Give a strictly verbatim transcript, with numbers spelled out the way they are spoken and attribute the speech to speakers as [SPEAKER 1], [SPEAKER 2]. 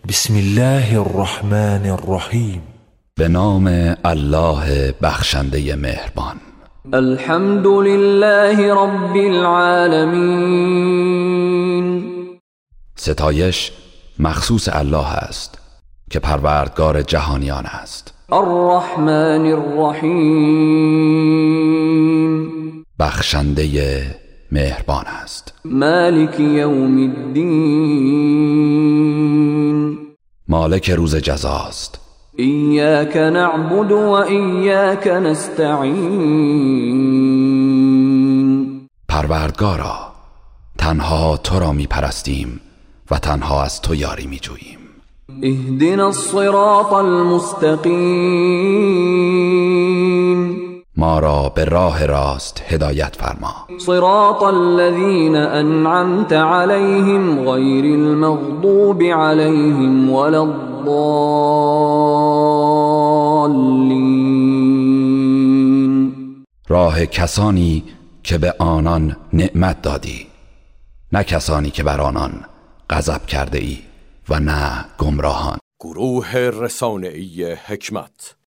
[SPEAKER 1] بسم الله الرحمن الرحیم.
[SPEAKER 2] به نام الله بخشنده مهربان.
[SPEAKER 3] الحمد لله رب العالمین.
[SPEAKER 2] ستایش مخصوص الله است که پروردگار جهانیان است.
[SPEAKER 3] الرحمن الرحیم.
[SPEAKER 2] بخشنده مهربان است.
[SPEAKER 3] مالک یوم الدین.
[SPEAKER 2] مالک روز جزاست.
[SPEAKER 3] ایاک نعبد و ایاک نستعین.
[SPEAKER 2] پروردگارا، تنها تو را می پرستیم و تنها از تو یاری می جوییم.
[SPEAKER 3] اهدنا الصراط المستقیم.
[SPEAKER 2] ما را به راه راست هدایت فرما.
[SPEAKER 3] صراط الذین انعمت علیهم غیر المغضوب علیهم ولا الضالین.
[SPEAKER 2] راه کسانی که به آنان نعمت دادی، نه کسانی که بر آنان غضب کرده ای و نه گمراهان.
[SPEAKER 4] گروه رسانه‌ای حکمت.